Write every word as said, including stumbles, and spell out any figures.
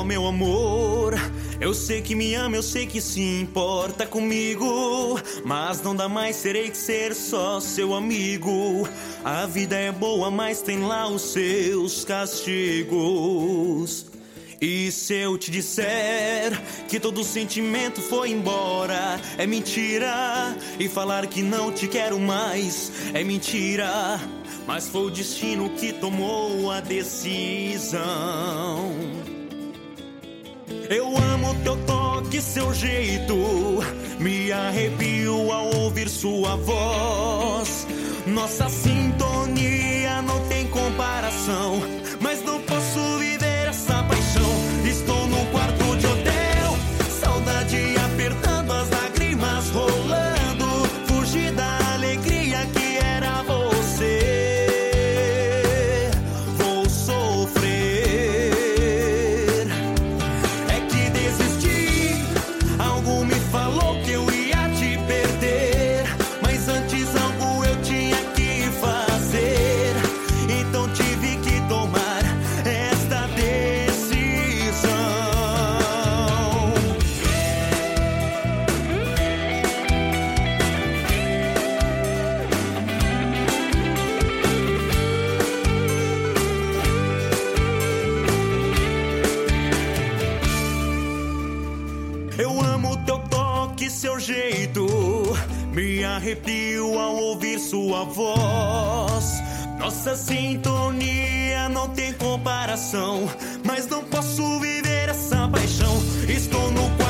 Oh, meu amor, eu sei que me ama, eu sei que se importa comigo, mas não dá mais, terei que ser só seu amigo. A vida é boa, mas tem lá os seus castigos. E se eu te disser que todo sentimento foi embora, é mentira. E falar que não te quero mais é mentira. Mas foi o destino que tomou a decisão. Eu amo teu toque, seu jeito, me arrepio ao ouvir sua voz. Nossa sintonia não tem comparação, mas não posso viver essa paixão. Estou num quarto de hotel, saudade apertando, as lágrimas rolando. Fugi da alegria que era você. Vou sofrer. É que desisti, algo me falou que eu ia te perder, mas antes algo eu tinha que fazer. Então tive que tomar esta decisão. Eu amo teu toque, seu jeito, me arrepio ao ouvir sua voz. Nossa sintonia não tem comparação, mas não posso viver essa paixão. Estou no